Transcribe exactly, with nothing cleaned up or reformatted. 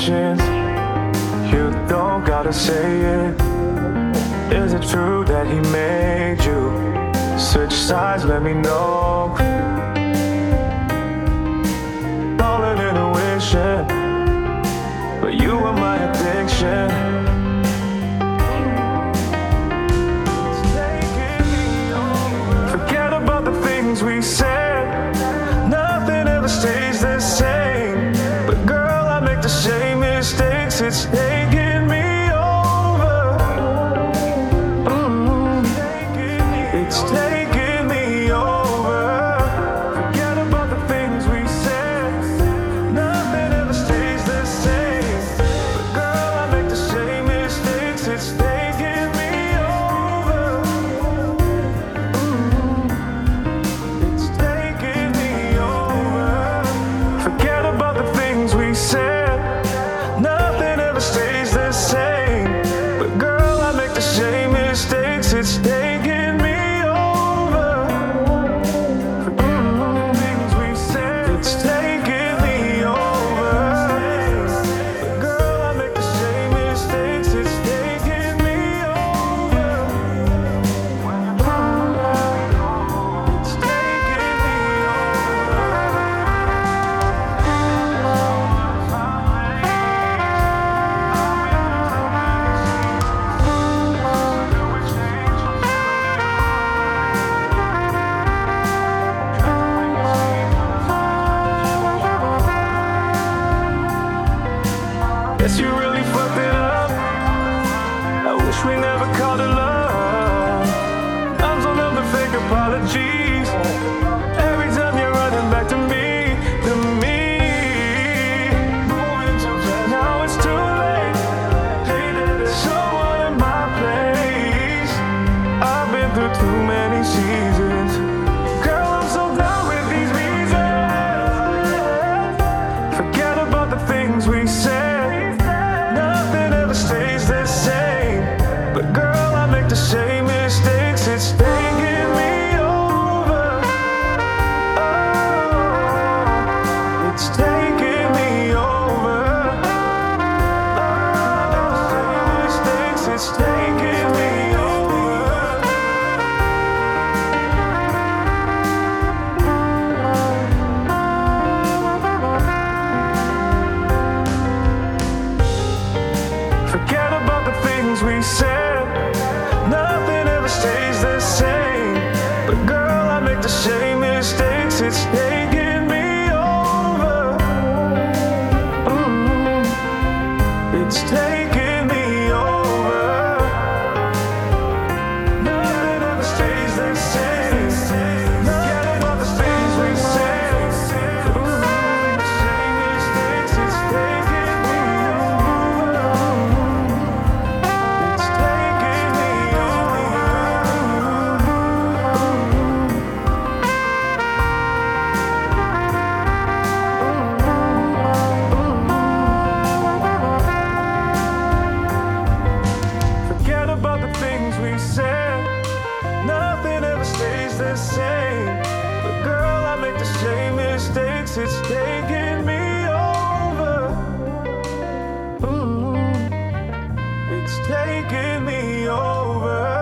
patience. You don't gotta say it. Is it true that he made you switch sides? Let me know. All an intuition, but you were my addiction. Forget about the things we said. Nothing ever stays the same. But girl, I make the same mistakes. It's taking me over. Mm. It's taking me over. Forget about the things we said. Nothing ever stays the same. But girl, I make the same mistakes. It's taking me over. Mm. It's taking me over. Forget about the things we said. Nothing ever stays the same. But girl, I make the same mistakes. It's taking me over. Forget about the things we said. It's taking me over. But girl, I make the same mistakes. It's taking me over. It's taking me Guess you really fucked it up. I wish we never called it love. I'm so numb to fake apologies. Every time you're running back to me, to me. Moving too fast, now it's too late. There's someone in my place. I've been through too many seasons. Girl, I'm so done with these reasons. Forget about the things we said. Nothing ever stays the same. But girl, I make the same mistakes. It's taking me over. Oh, it's taking me over. Oh, I make the same mistakes. It's taking me over. Forget about the things we said. Nothing ever stays the same. But girl, I make the same mistakes. It's taking me over. Mm. It's taking me over. Nothing ever stays the same. Forget about the things we said. Ooh, make the same mistakes. It's taking me over. It's taking me over. Forget about the things we said. Nothing ever stays the same. But girl, I make the same mistakes. It's taking me over. Mm. It's taking me over.